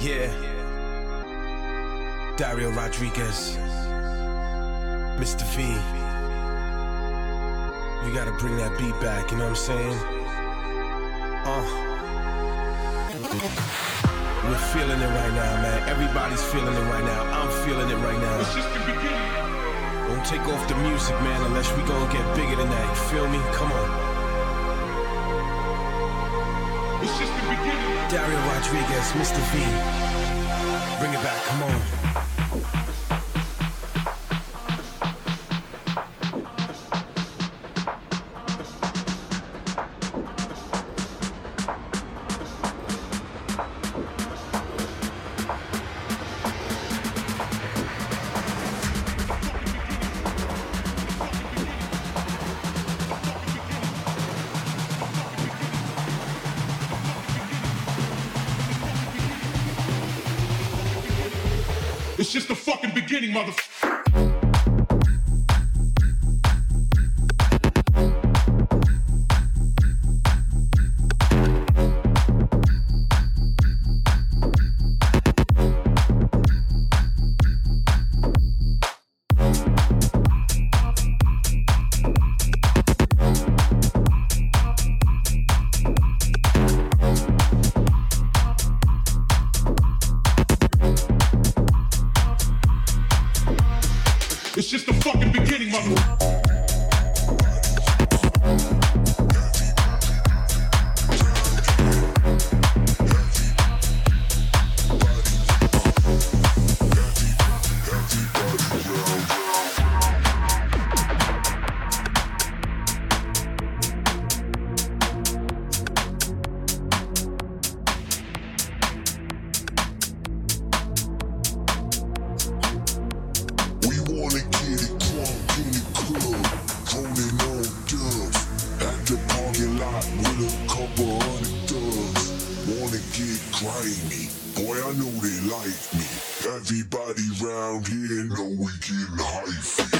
Yeah. Dario Rodriguez. Mr. V. You gotta bring that beat back, you know what I'm saying? We're feeling it right now, man. Everybody's feeling it right now. I'm feeling it right now. It's just the beginning. Don't take off the music, man, unless we gonna get bigger than that. You feel me? Come on. It's just the beginning. Dario Rodriguez, Mr. V. Bring it back, come on. It's just the fucking beginning, motherfucker. It's just the fucking beginning, motherfucker. Everybody round here know we getting hyphy.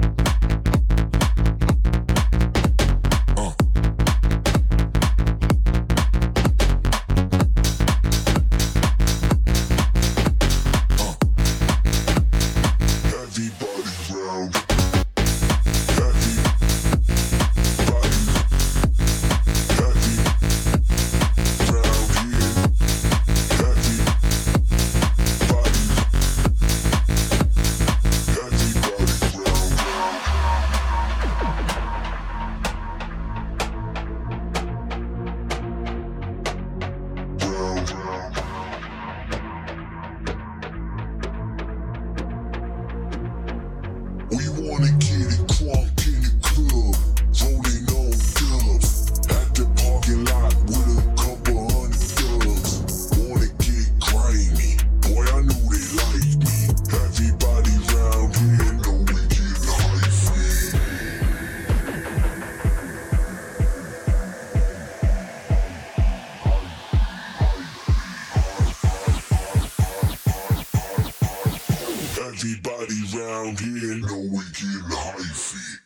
Everybody round here know we getting hyphy.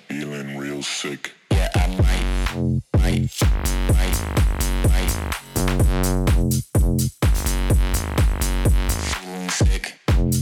feeling real sick. Yeah, I might. Feeling sick.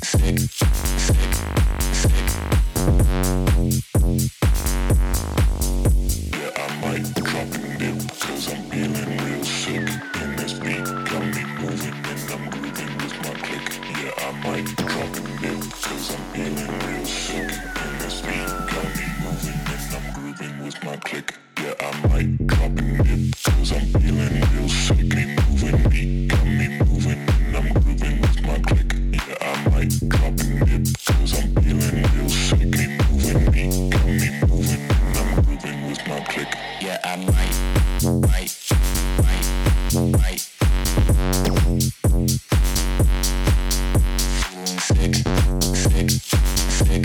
Yeah, I might drop and dip, cause I'm feeling real sick. And this beat got me moving and I'm grooving with my click. Yeah, I might drop and dip, cause I'm feeling real sick. And this beat got me moving and I'm grooving with my click. Yeah, I might drop and dip, cause I'm feeling real sick. Me moving, beat got me moving and I'm grooving with my click. Yeah, I might drop and dip, cause I'm feeling real sick. Me moving, beat got me moving and I'm grooving with my click. Yeah, I might. Feeling sick.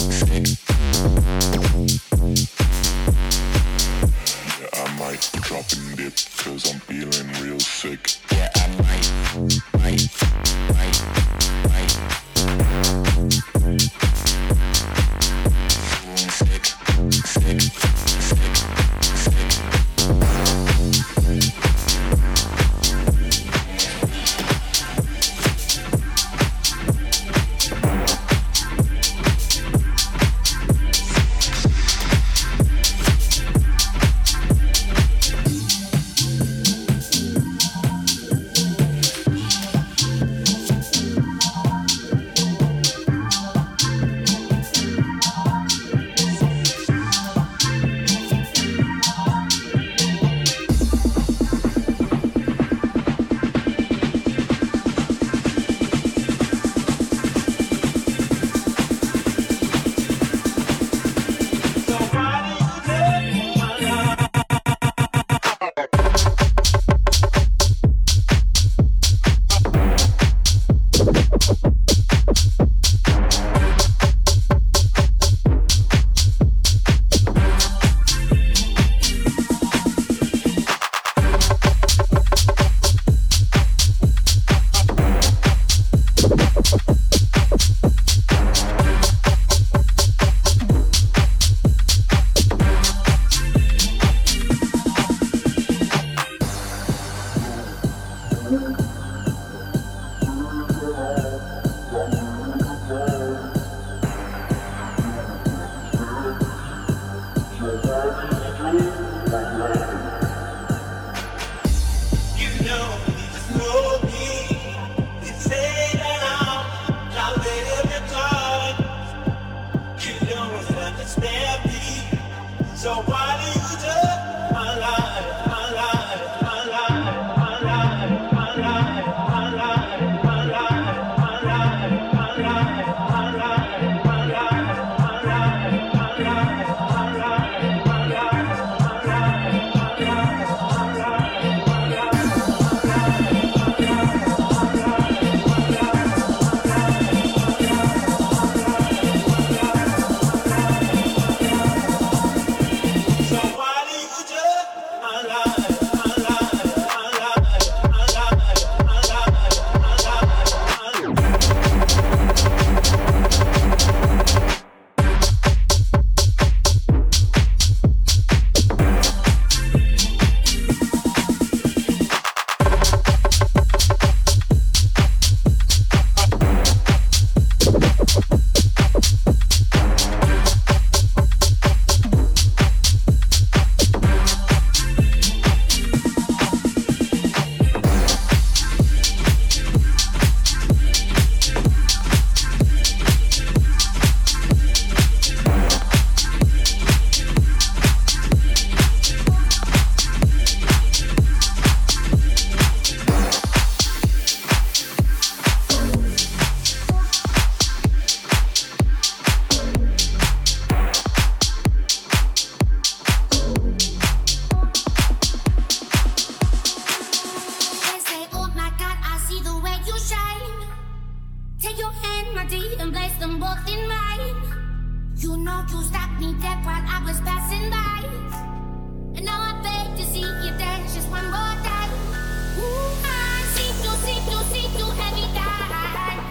Yeah, I might drop and dip, cause I'm feeling real sick. Yeah, I might. Feeling sick.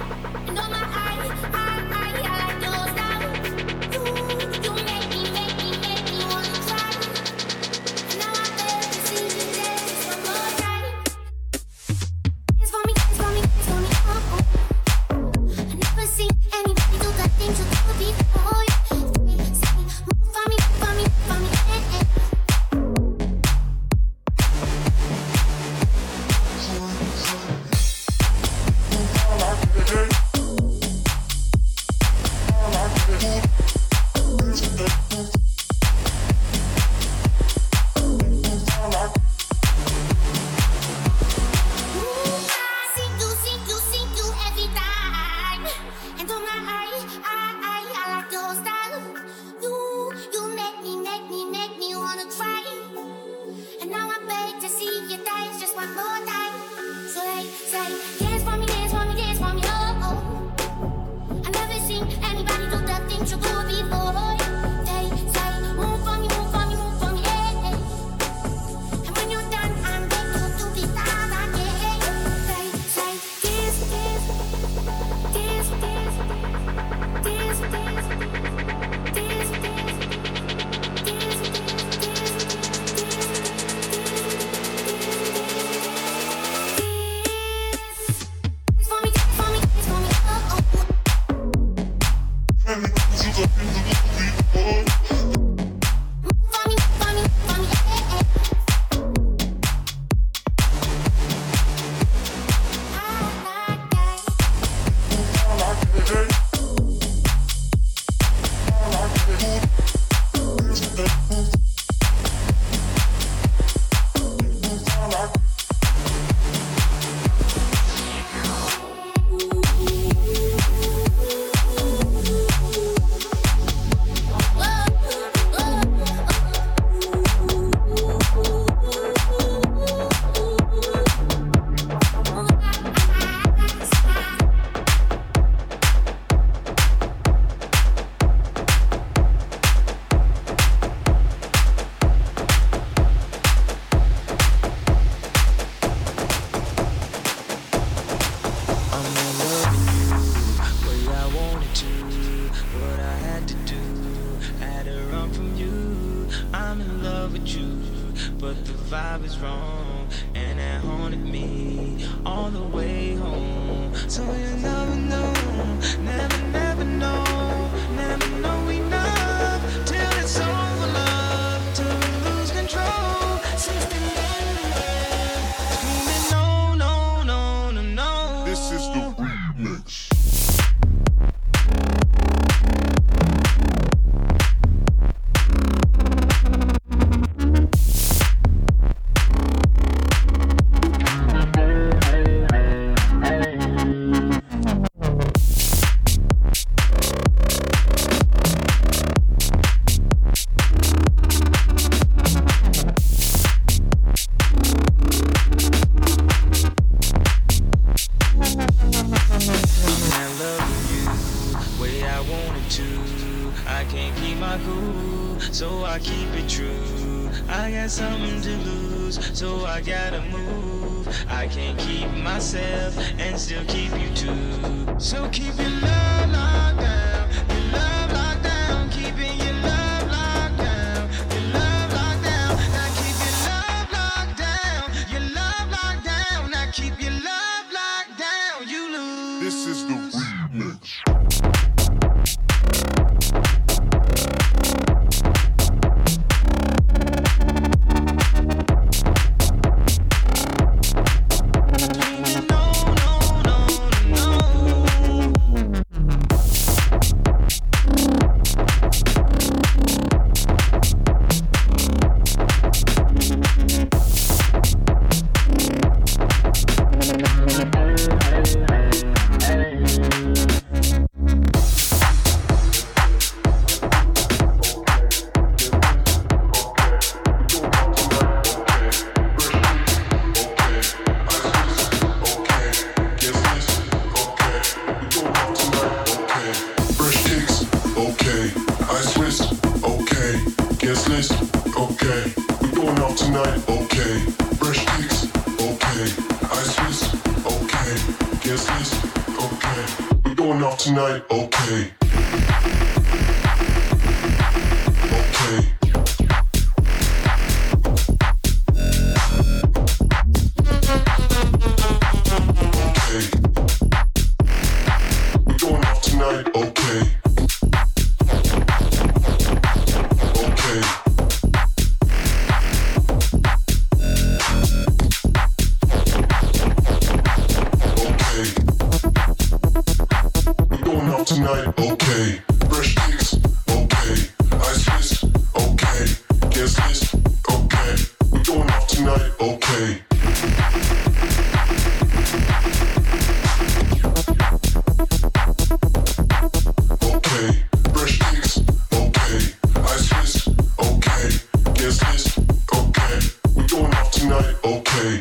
I I'm in love with you, but the vibe is wrong, and it haunted me all the way home. So you never know, never know, never know enough till it's over, love, till we lose control. 69, screaming no, no, no, no, no. This is the remix. So I keep it true. I got something to lose, so I gotta move. I can't keep myself and still keep you too. So keep your love locked down, your love locked down, keeping your love locked down, your love locked down. Now keep your love locked down, your love locked down. Now keep your love locked down, you lose. This is the remix. Tonight, okay. Okay. Okay. We're going off tonight, okay. Okay. Tonight, okay. Fresh kicks, okay. Ice wrist, okay. Guest list, okay. We're going off tonight, okay. Okay. Fresh kicks, okay. Ice wrist, okay. Guest list, okay. We're going off tonight, okay.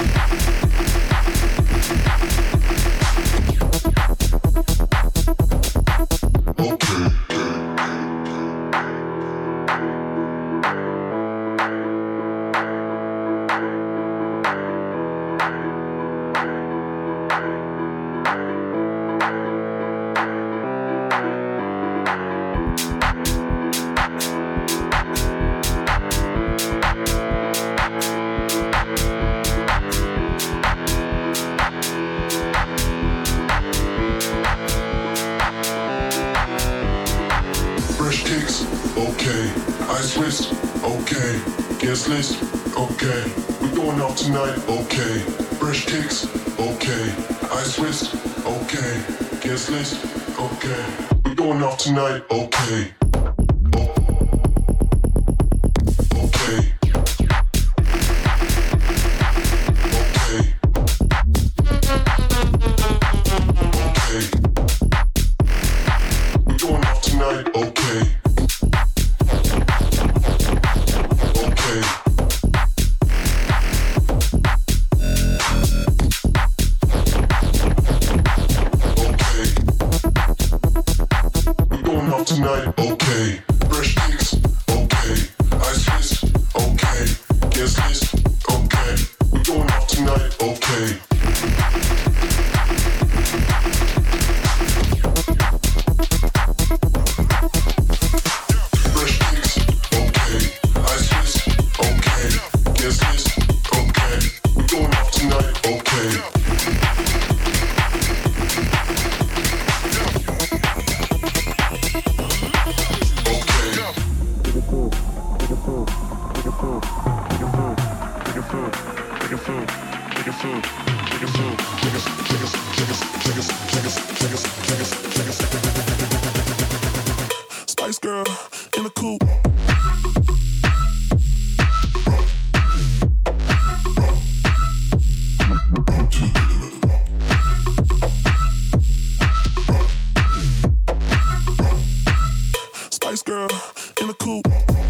Okay, ice wrist, okay, guest list, okay, we're going off tonight, okay, fresh kicks, okay, ice wrist, okay, guest list, okay, we're going off tonight, okay. Okay. Tonight, Spice Girl in the coupe. Spice Girl in the coupe.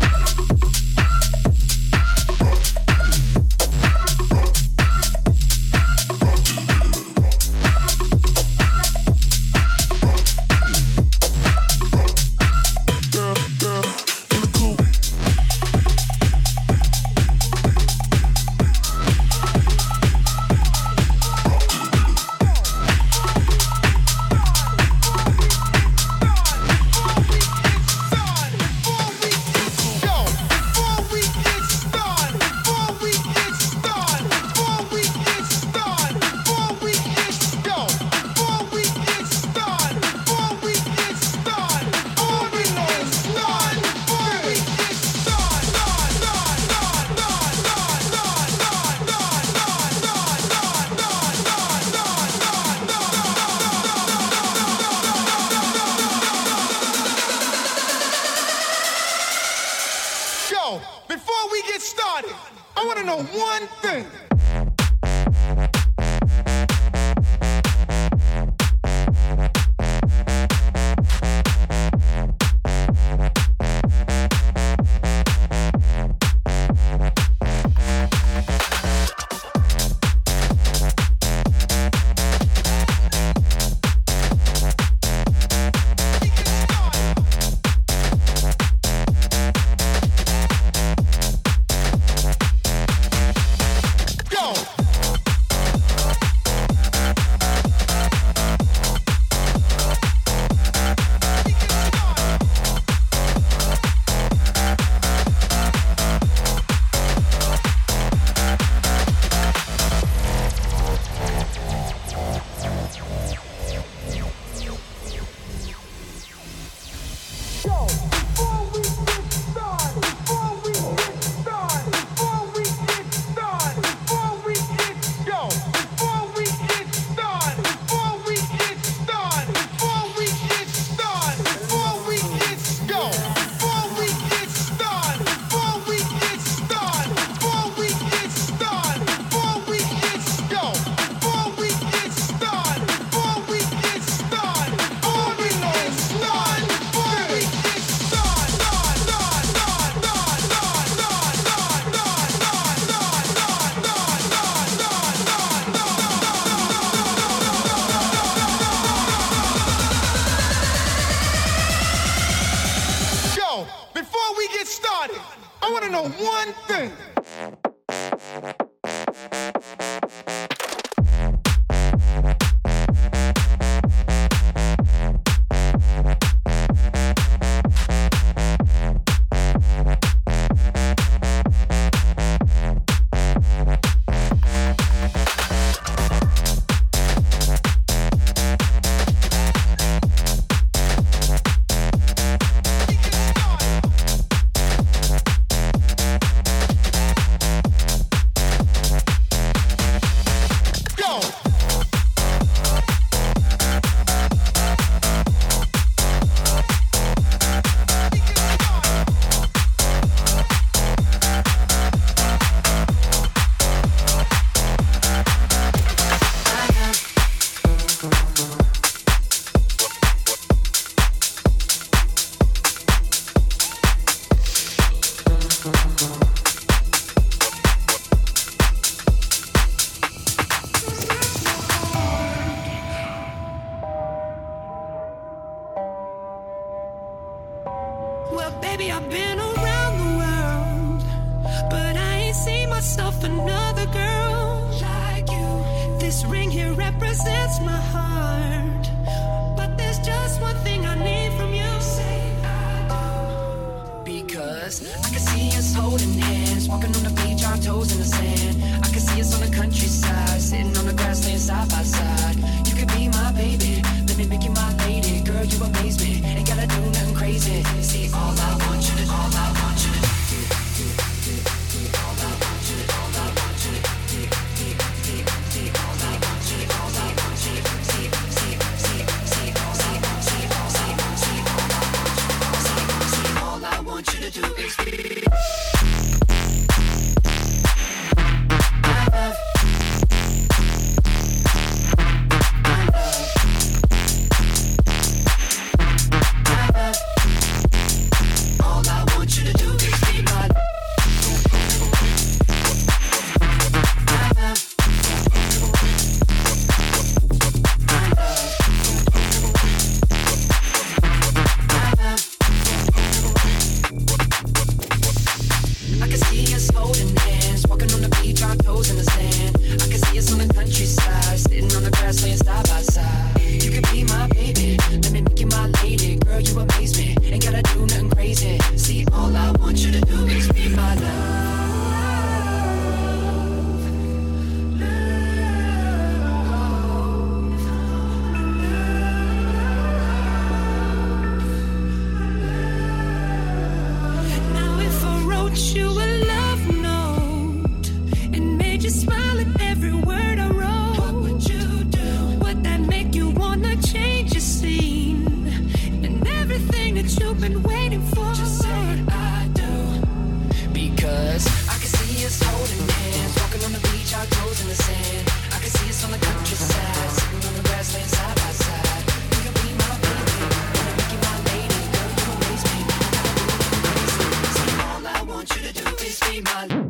Before we get started, I want to know one thing. Before we get started, I want to know one thing. Well, baby, I've been around the world, but I ain't seen myself another girl like you. This ring here represents my heart, but there's just one thing I need from you. Say I do. Because I can see us holding hands, walking on the beach, our toes in the sand. I can see us on the countryside, sitting on the grass, laying side by side. You could be my baby, let me make you my lady. Girl, you amaze me, ain't gotta do nothing crazy. See, all I want you to, all I want you our toes in the sand. I can see us on the countryside, sitting on the grass laying side by side. You can be my baby, let me make you my lady. Girl, you amaze me, ain't gotta do nothing crazy. See, all I want you to do is be my love. You a love note and made you smile at every word I wrote. What would you do? Would that make you wanna change your scene and everything that you've been waiting for? Just say I do, because I can see us holding hands, walking on the beach, our toes in the sand. I can see us on the countryside, sitting on the grass, laying side by side. You can be my baby, wanna make you my lady. Girl, you amaze me, all I want you to do is be my love.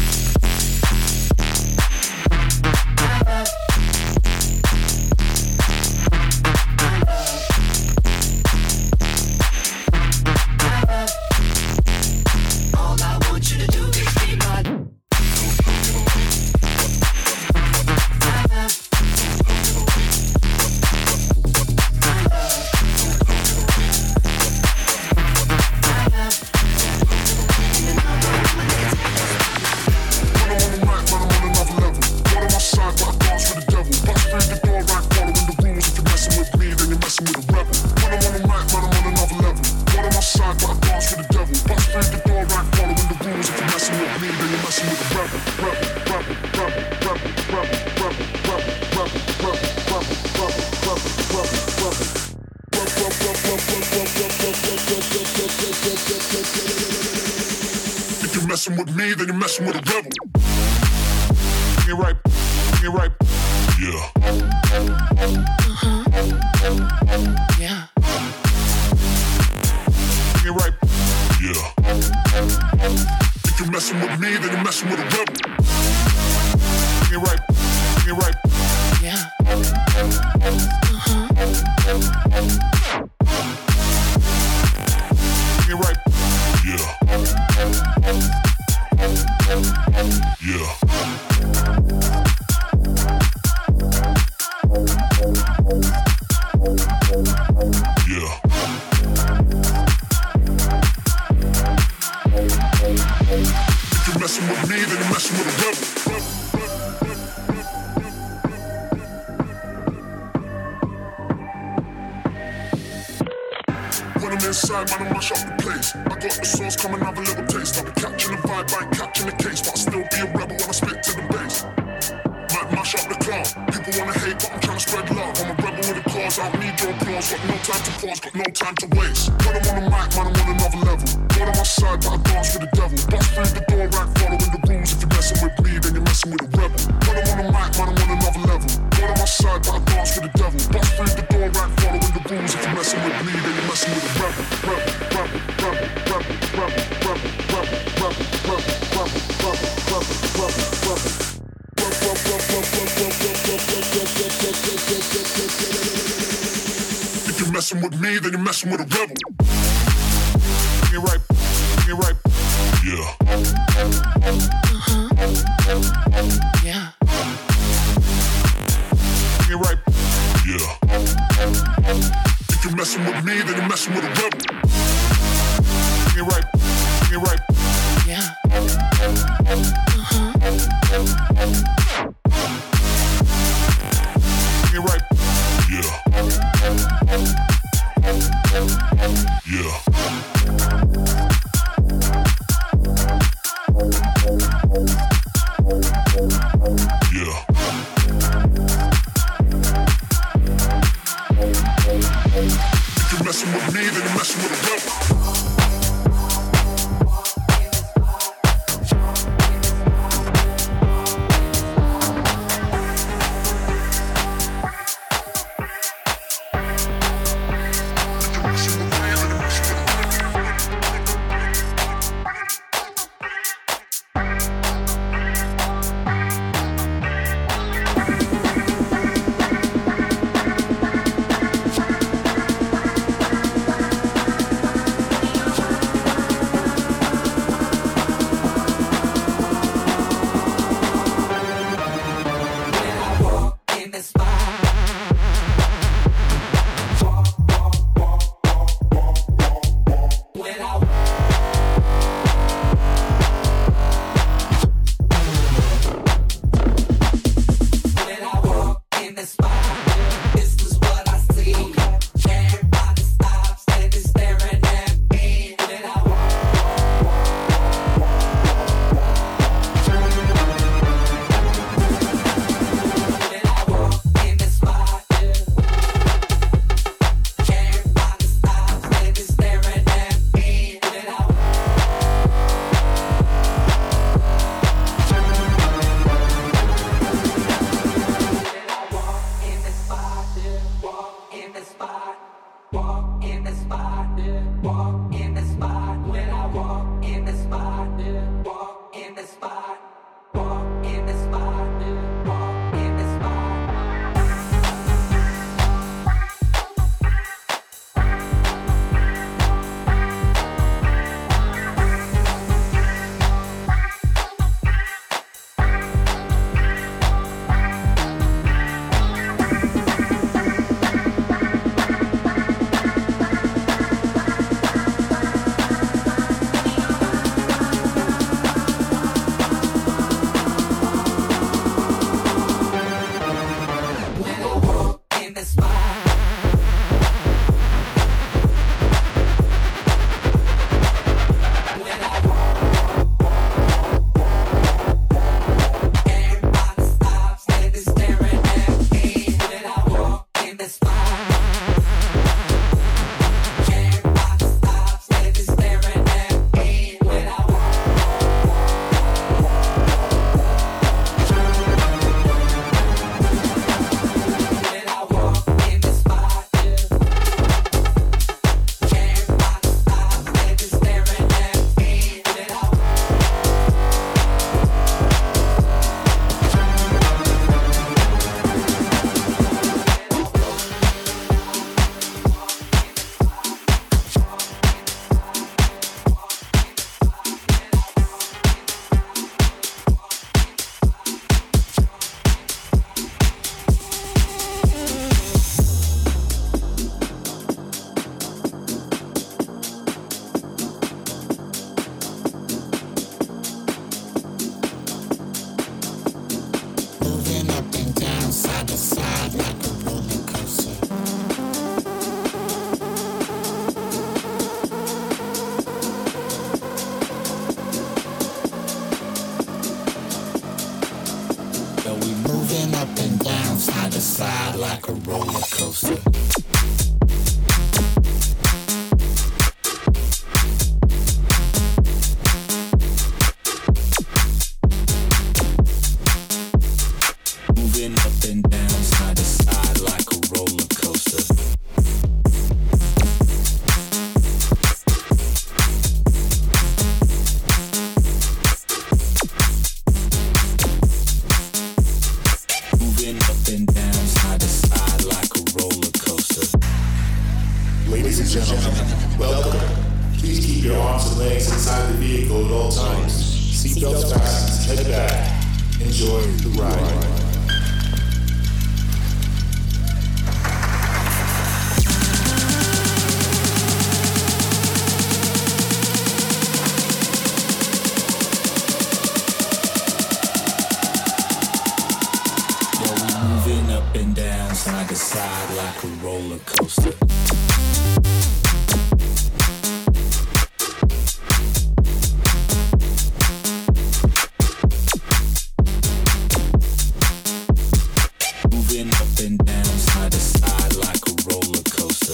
All I want you to do is be my love. If you're messing with me, then you're messing with a rebel. You're right, you're right. Yeah. Yeah. You're right. Yeah. If you're messing with me, then you're messing with a rebel. You're right, you're right. Yeah. You're right. Yeah. Yeah. Yeah. If you're messing with me, then you're messing with a rebel. When I'm inside, man, I mash up the place. I got the sauce coming, have a little taste. I'll be catching the vibe, I ain't catching the case. But I'll still be a rebel when I spit to the bass. Might mash up the club. People wanna hate, but I'm trying to spread love. I'm a rebel with a cause, I don't need your applause. Got no time to pause, got no time to waste. When I'm on the mic, man, I'm on another level. God on my side, but I dance with the devil. Bust through the door, right, following the rules. If you're messing with me, then you're messing with a rebel. When I'm on the mic, man, I'm on another level. God on my side, but I dance with the devil. Bust through the door, right, following the rules. If you're messing with me, then you're messing with a rebel. If you're messing with me, then you're messing with a rebel. You're right, you're right. Yeah. Yeah. You're right. Yeah. If you're messing with me, then you're messing with a rebel. You're right, you're right. Yeah. You're right. Yeah. Yeah. Yeah. If you're messing with me, then you're messing with a rebel. side to side like a roller coaster. Moving up and down, side to side like a roller coaster. Moving up and down, side to side like a roller coaster. Ladies and gentlemen, welcome. Please keep your arms and legs inside the vehicle at all times. Seatbelts fastened, head back. Enjoy the ride. Up and down, side to side like a roller coaster. Moving up and down, side to side like a roller coaster.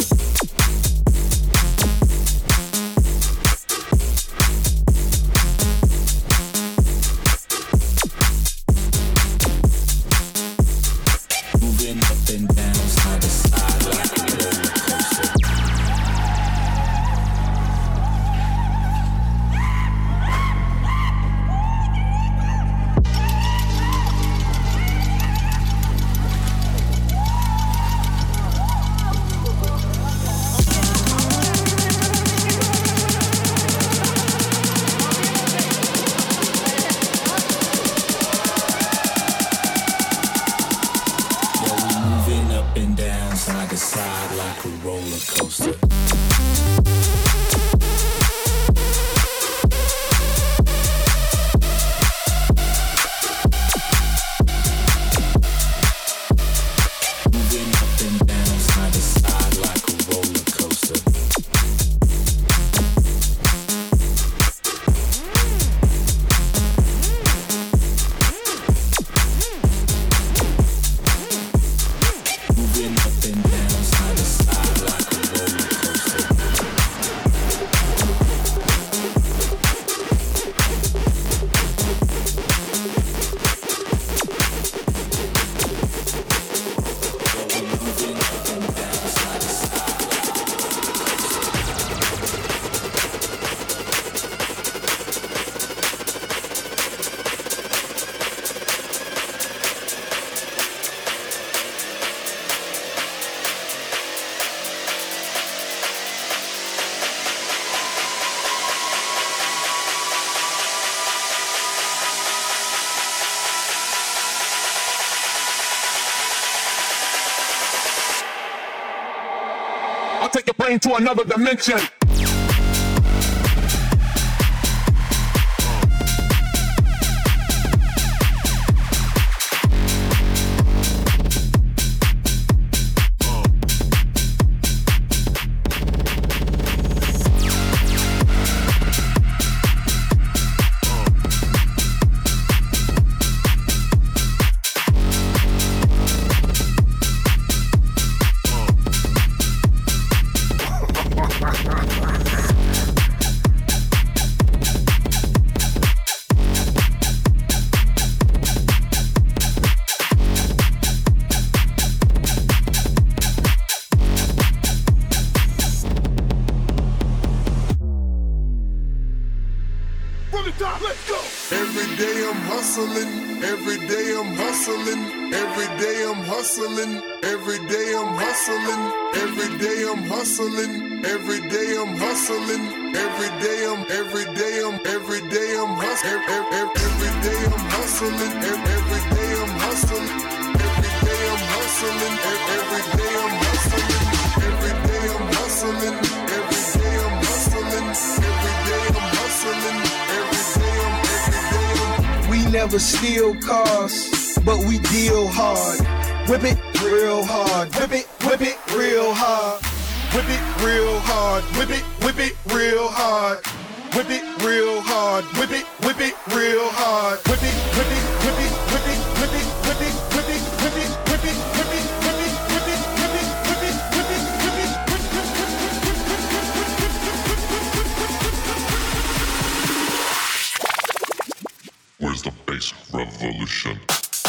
Moving up and down, side to side like a roller coaster. Side to side like a roller coaster. Moving up and down, side to side like a roller coaster. Moving up and down, side to side like a roller coaster. Moving up and down, side to side like a I'll take your brain to another dimension. Every day I'm hustling, every day I'm hustling, every day I'm hustling, every day I'm hustling, every day I'm hustling, every day I'm hustling, every day I'm hustling, every day I'm hustling, every day I'm hustling, every day I'm hustling, every day I'm hustling, every day I'm hustling, every day I'm hustling, every day I'm hustling, every day I'm hustling, every day I'm We never steal cars, but we deal hard. Whip it real hard. Whip it real hard. Whip it real hard. Whip it real hard. Whip it real hard. Whip it real hard. Whip it, whip it, whip it, whip it, whip it, whip it, whip it, whip it, whip it, whip it, Where's the bass revolution?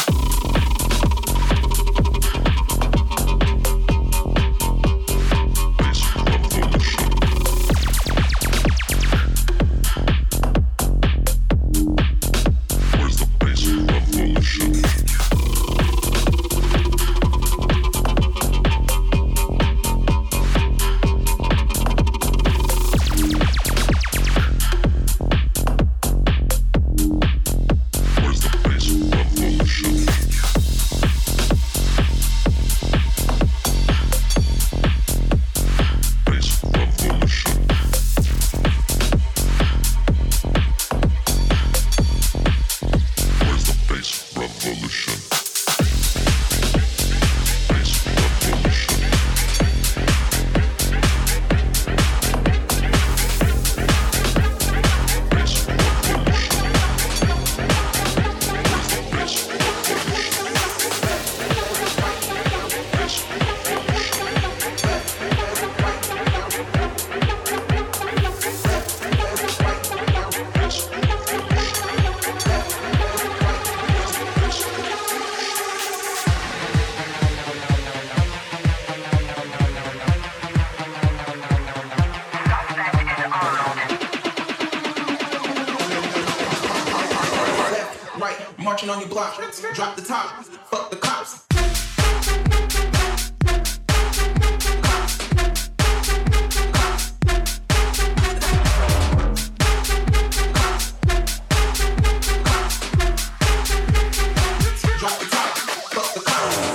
Marching on your block, drop the top, fuck the cops. Drop the top, fuck the cops.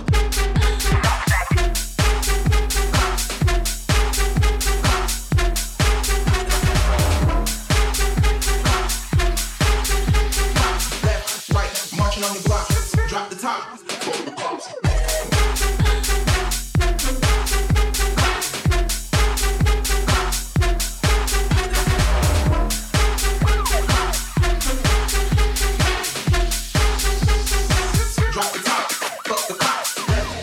On your block, drop the top, fuck the cops. Drop the top, fuck the cops.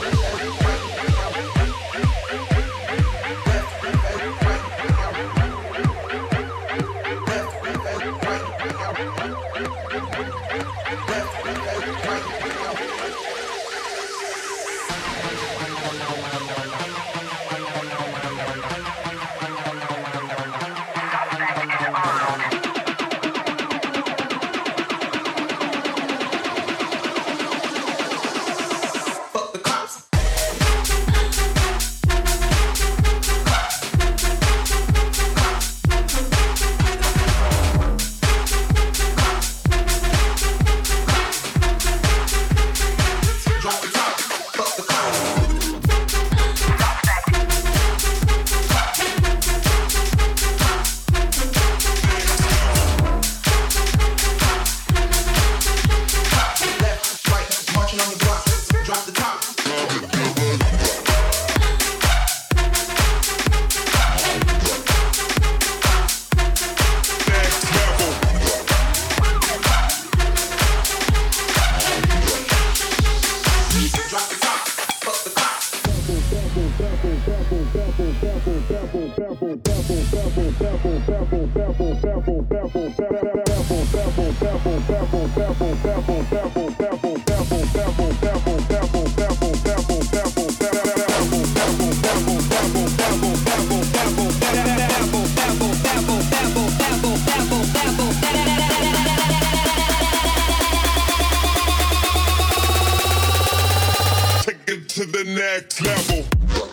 To the next level.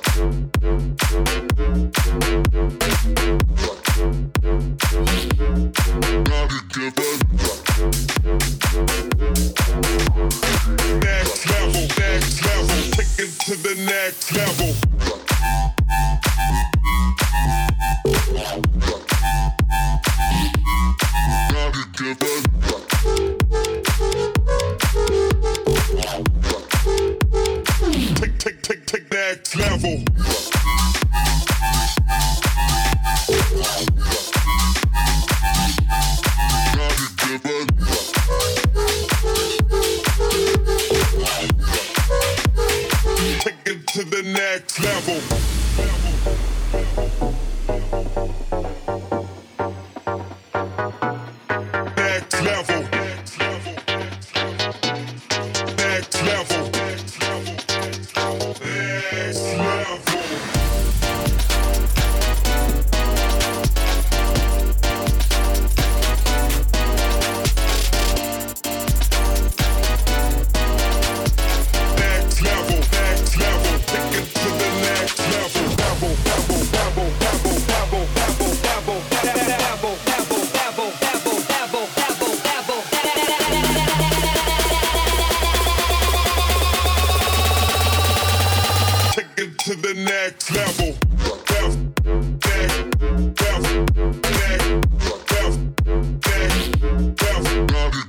Next level, take it to the next level. Take next level. Take it to the next level. Next level.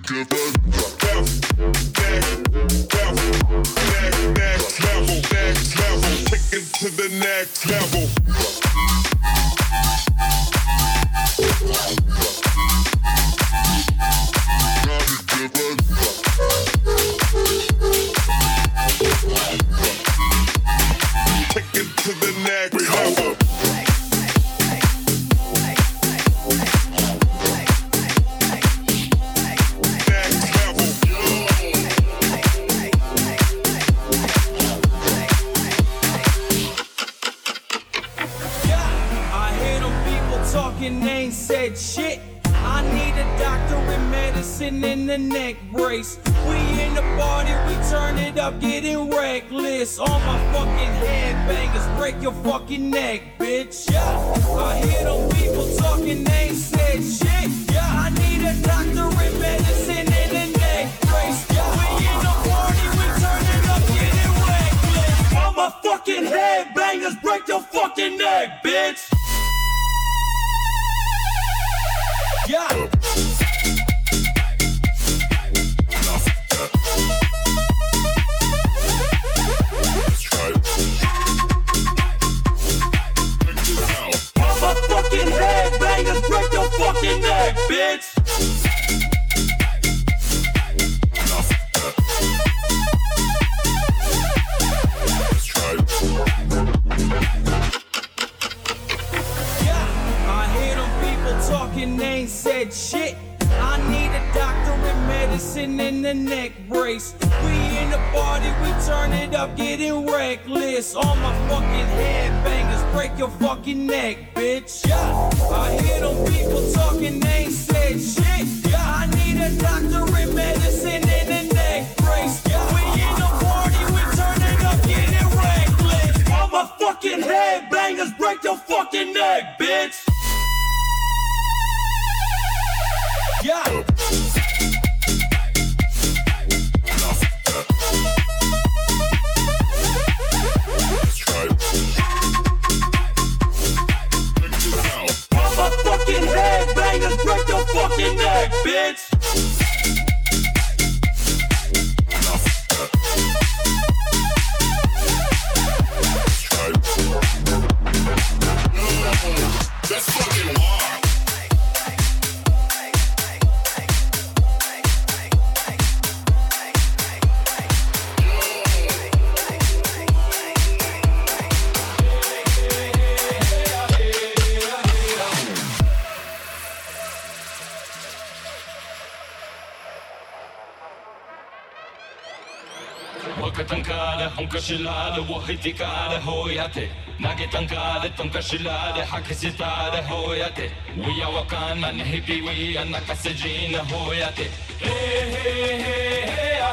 Shilade, Wahitikade, Hoyate, Nagetankade, Tonkashilade, Hakisitade, Hoyate, we are Wakana, Hippie, we are Nakasajina, Hoyate, hey, hey, hey,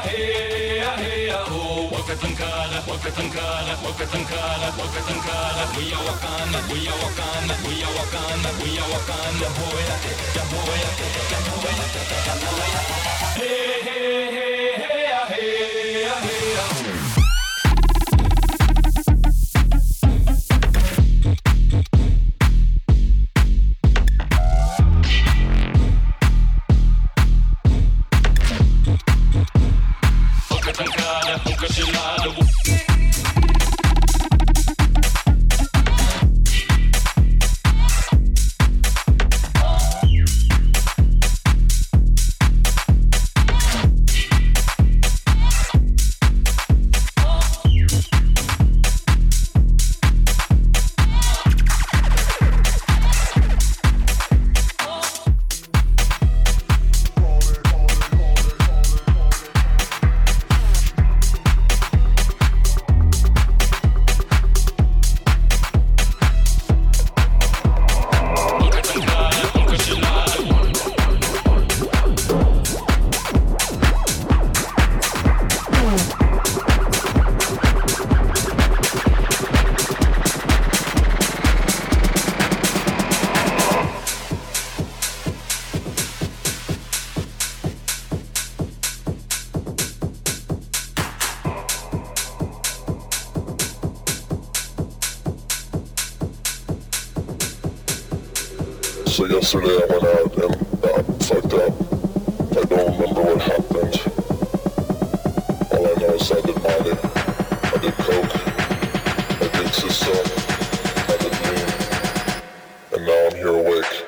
hey, hey, hey, oh, Wakatankada, Wakatankada, Wakatankada, Wakatankada, we are Wakana, we are Wakana, we are Wakana, we are Wakana, Hoyate, Hoyate, Hoyate, Hoyate, hey, hey, hey, hey, hey, hey, oh. So yesterday I went out and fucked up. I don't don't remember what happened. All I know is I did Molly, I did coke, I did sister, I did lean, and now I'm here awake.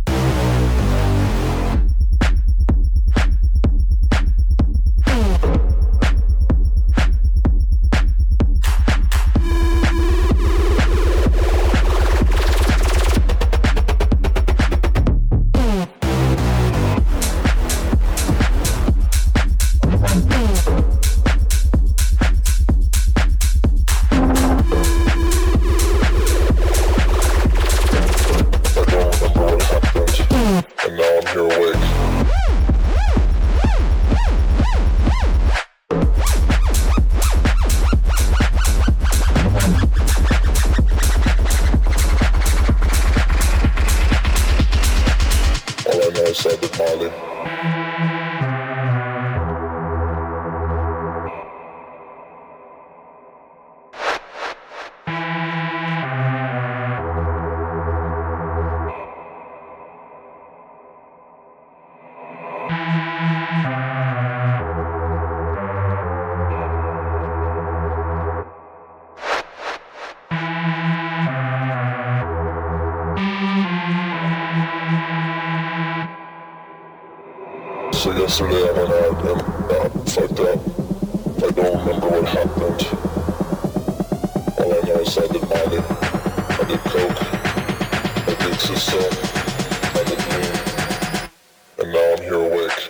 So yesterday I went out and fucked up. I don't remember what happened. All I know is I did Molly, I did coke, I did sister, I did lean, and now I'm here awake.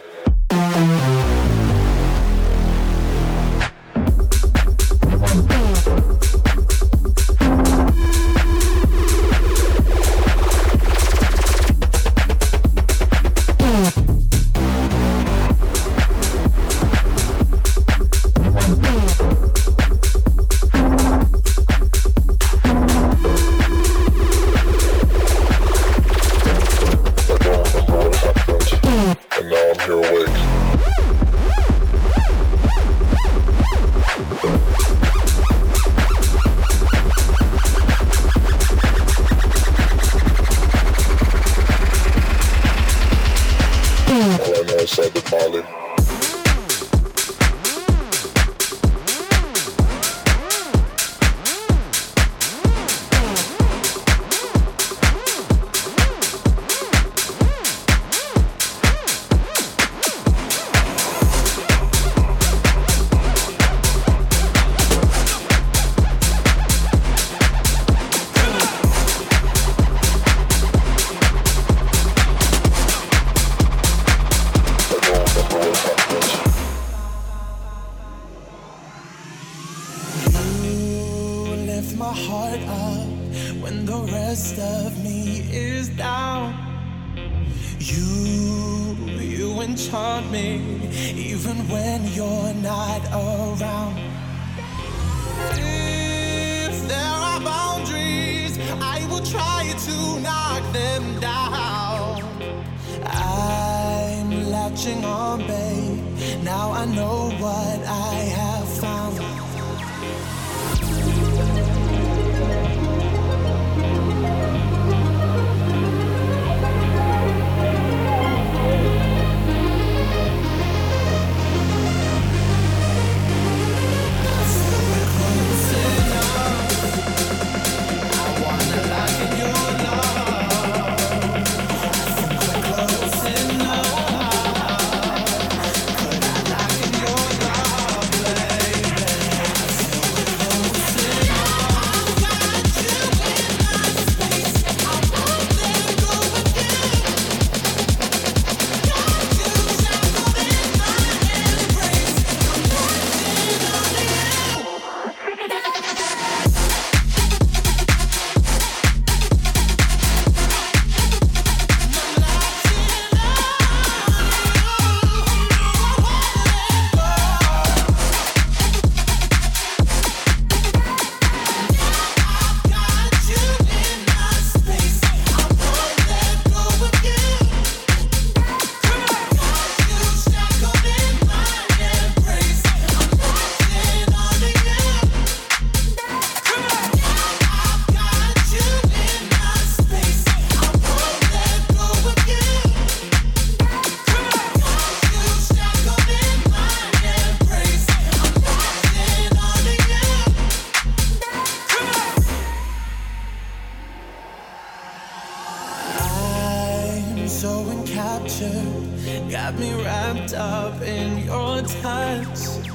me wrapped up in your touch.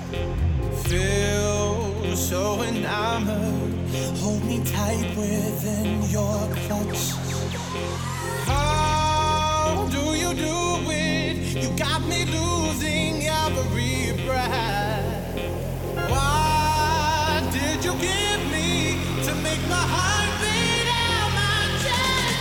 Feel so enamored. Hold me tight within your clutch. How do you do it? You got me losing every breath. What did you give me to make my heart beat out my chest?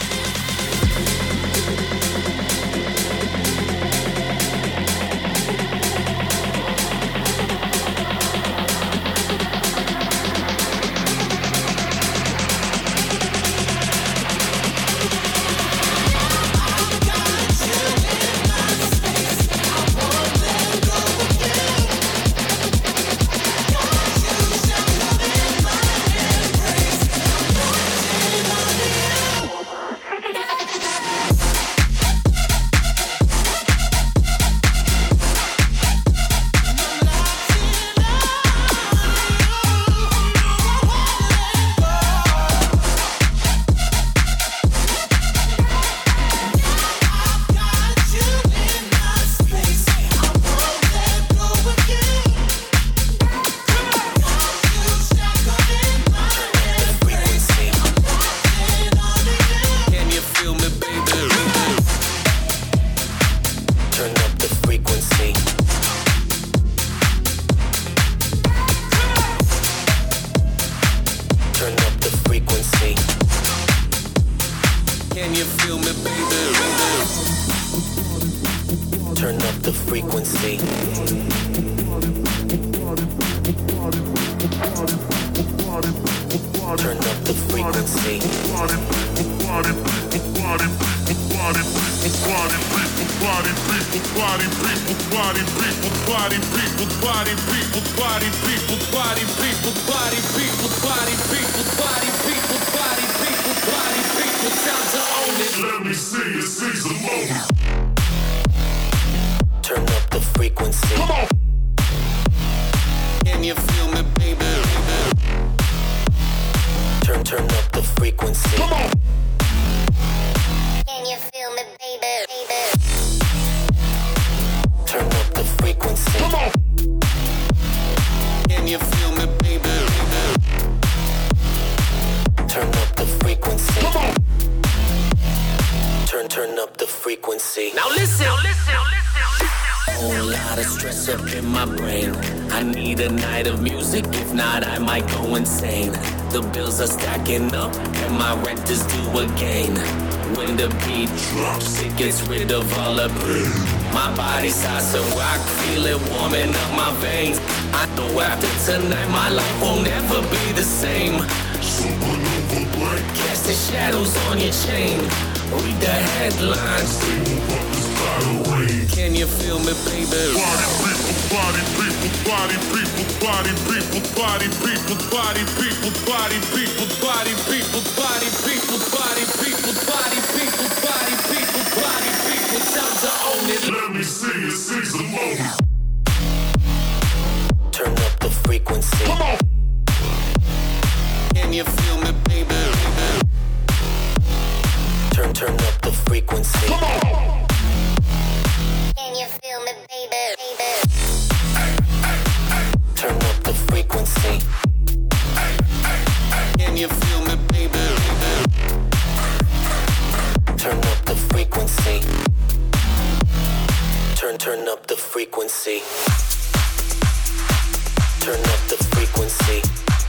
Tonight my life will never be the same. Supernova black, casting shadows on your chain. Read the headlines. Can you feel me, baby? Party people, party people, party people, party people, party people, party people, party people, party people, party people, party people, party people, party people. Time to own it. Let me see you seize the moment. Turn up the frequency. Come on. Can you feel me, baby? Turn up the frequency. Come on. Can you feel me, baby? Turn up the frequency. Can you feel me, baby? Turn up the frequency. Turn up the frequency. Turn up the frequency.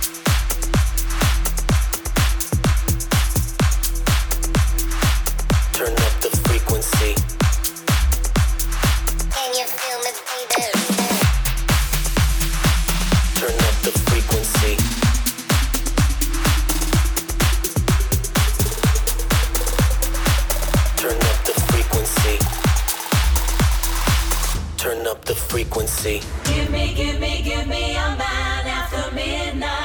Turn up the frequency. Can you feel me, baby? Turn up the frequency. Turn up the frequency. Turn up the frequency. Give me a man after midnight.